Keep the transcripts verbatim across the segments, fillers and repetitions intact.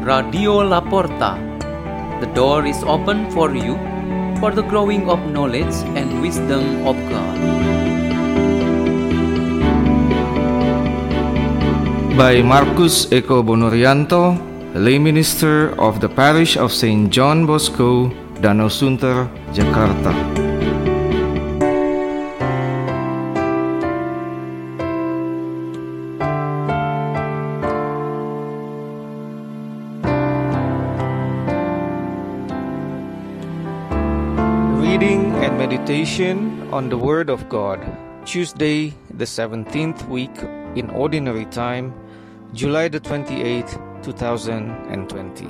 Radio La Porta. The door is open for you for the growing of knowledge and wisdom of God. By Marcus Eko Bonurianto, lay minister of the parish of Saint John Bosco, Danau Sunter, Jakarta. Reading and meditation on the Word of God. Tuesday, the seventeenth week in Ordinary Time, July the twenty-eighth, two thousand twenty.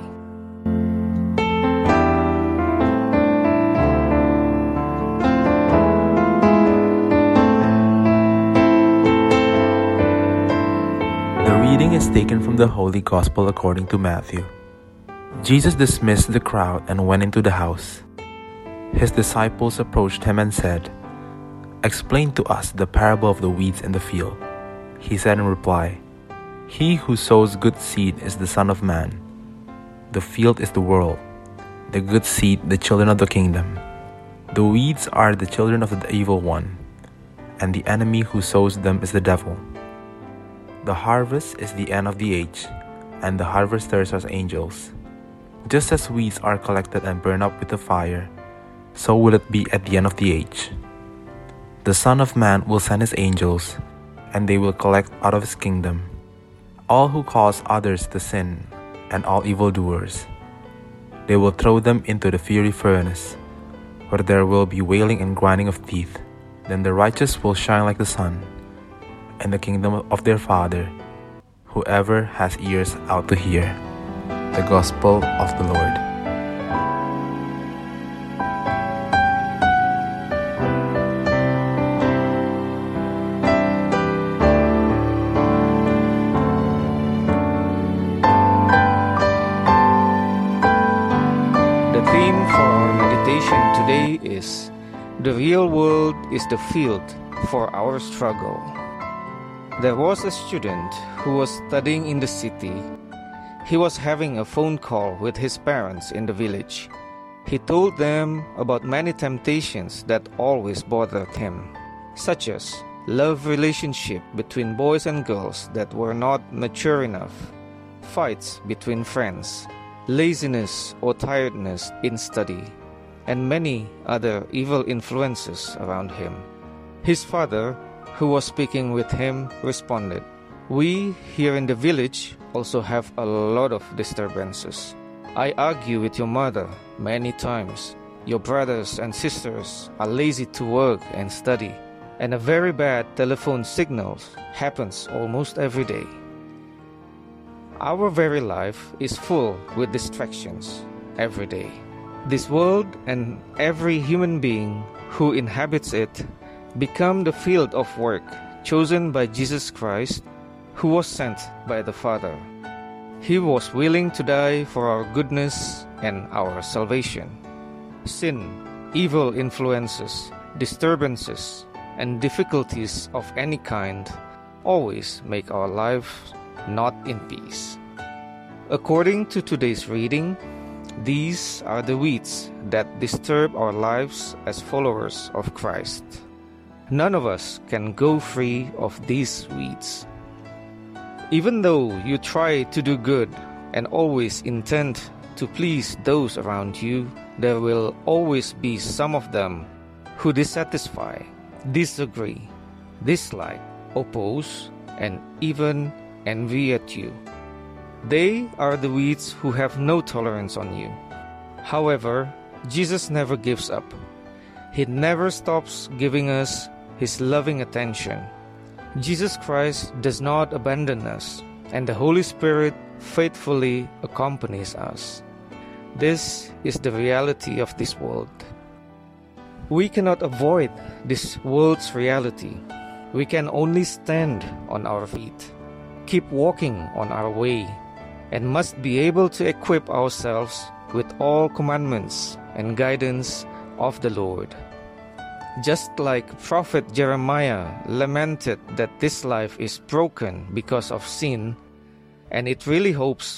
The reading is taken from the Holy Gospel according to Matthew. Jesus dismissed the crowd and went into the house. His disciples approached him and said, "Explain to us the parable of the weeds in the field." He said in reply, "He who sows good seed is the Son of Man. The field is the world, the good seed the children of the kingdom. The weeds are the children of the evil one, and the enemy who sows them is the devil. The harvest is the end of the age, and the harvesters are angels. Just as weeds are collected and burned up with the fire, so will it be at the end of the age. The Son of Man will send his angels, and they will collect out of his kingdom all who cause others to sin and all evildoers. They will throw them into the fiery furnace, where there will be wailing and grinding of teeth. Then the righteous will shine like the sun in the kingdom of their Father. Whoever has ears out to hear." The Gospel of the Lord. The theme for our meditation today is "The real world is the field for our struggle." There was a student who was studying in the city. He was having a phone call with his parents in the village. He told them about many temptations that always bothered him, such as love relationship between boys and girls that were not mature enough, fights between friends, laziness or tiredness in study, and many other evil influences around him. His father, who was speaking with him, responded, "We here in the village also have a lot of disturbances. I argue with your mother many times. Your brothers and sisters are lazy to work and study, and a very bad telephone signal happens almost every day. Our very life is full with distractions every day. This world and every human being who inhabits it become the field of work chosen by Jesus Christ, who was sent by the Father. He was willing to die for our goodness and our salvation. Sin, evil influences, disturbances, and difficulties of any kind always make our life not in peace. According to today's reading, these are the weeds that disturb our lives as followers of Christ. None of us can go free of these weeds. Even though you try to do good and always intend to please those around you, there will always be some of them who dissatisfy, disagree, dislike, oppose, and even envy at you. They are the weeds who have no tolerance on you. However, Jesus never gives up. He never stops giving us His loving attention. Jesus Christ does not abandon us, and the Holy Spirit faithfully accompanies us. This is the reality of this world. We cannot avoid this world's reality. We can only stand on our feet, keep walking on our way, and must be able to equip ourselves with all commandments and guidance of the Lord. Just like Prophet Jeremiah lamented that this life is broken because of sin, and it really hopes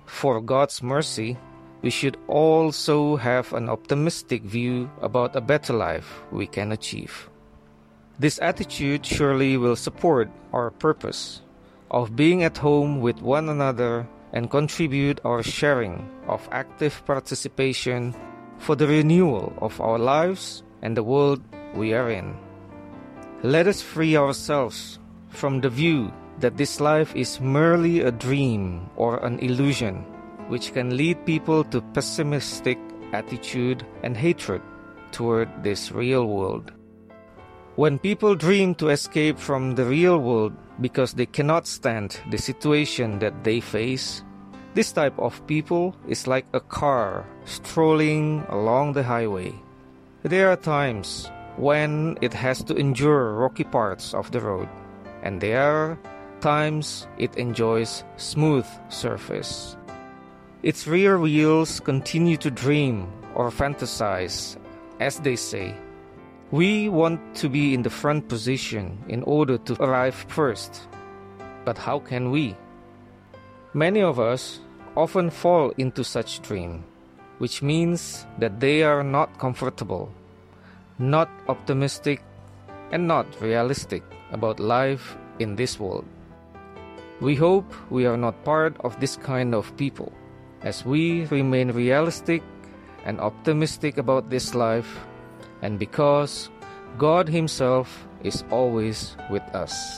for God's mercy, we should also have an optimistic view about a better life we can achieve. This attitude surely will support our purpose of being at home with one another and contribute our sharing of active participation for the renewal of our lives and the world we are in. Let us free ourselves from the view that this life is merely a dream or an illusion, which can lead people to pessimistic attitude and hatred toward this real world. When people dream to escape from the real world because they cannot stand the situation that they face, this type of people is like a car strolling along the highway. There are times when it has to endure rocky parts of the road, and there are times it enjoys smooth surface. Its rear wheels continue to dream or fantasize, as they say. We want to be in the front position in order to arrive first. But how can we? Many of us often fall into such dream, which means that they are not comfortable, not optimistic, and not realistic about life in this world. We hope we are not part of this kind of people, as we remain realistic and optimistic about this life, and because God Himself is always with us.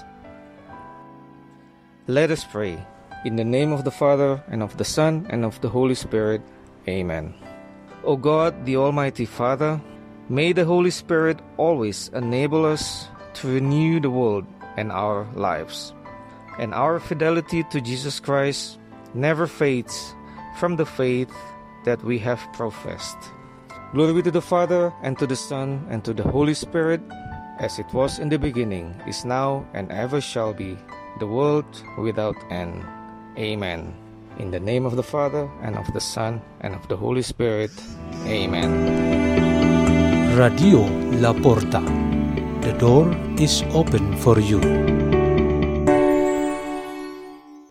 Let us pray. In the name of the Father, and of the Son, and of the Holy Spirit. Amen. O God, the Almighty Father, may the Holy Spirit always enable us to renew the world and our lives, and our fidelity to Jesus Christ never fades from the faith that we have professed. Glory be to the Father, and to the Son, and to the Holy Spirit, as it was in the beginning, is now, and ever shall be, the world without end. Amen. In the name of the Father, and of the Son, and of the Holy Spirit. Amen. Radio La Porta. The door is open for you.